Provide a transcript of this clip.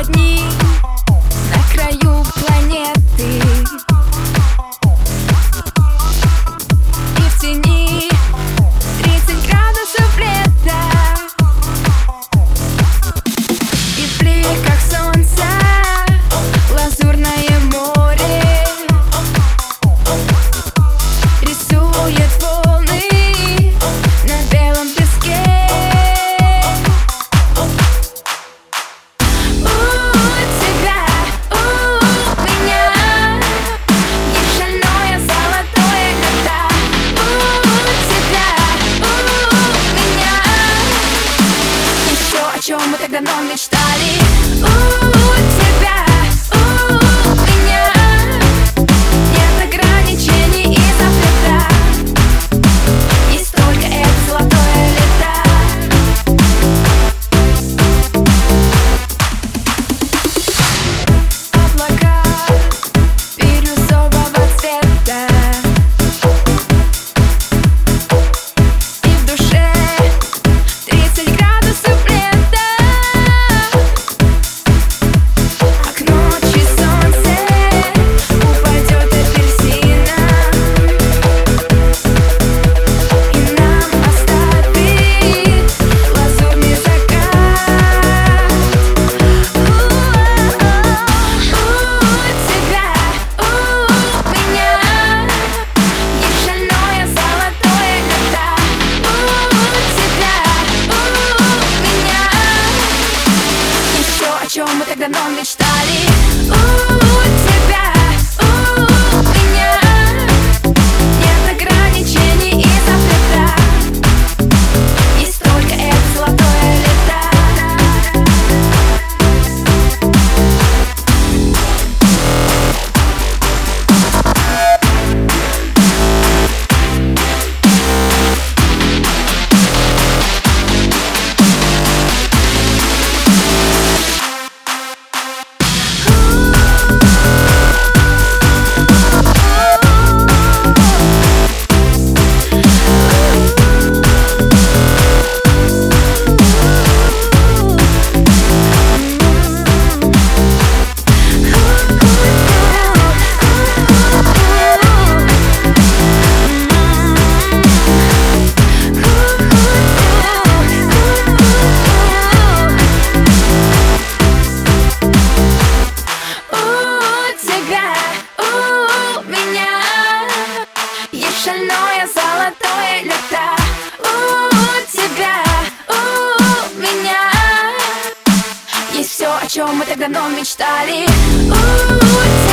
дни на краю планеты, и в тени 30 градусов лета, и в бликах солнца лазурное море рисует волны на белом песке. Мы так давно мечтали. У тебя, у меня нет ограничений и запрета. Есть только это золотое лето. Облака бирюзового цвета, и в душе 30 градусов лета. Мы так давно мечтали. У тебя, у меня нет ограничений и запрета. Есть только это золотое лето. Шальное золотое лето. У тебя, у меня есть все, о чем мы так давно мечтали. У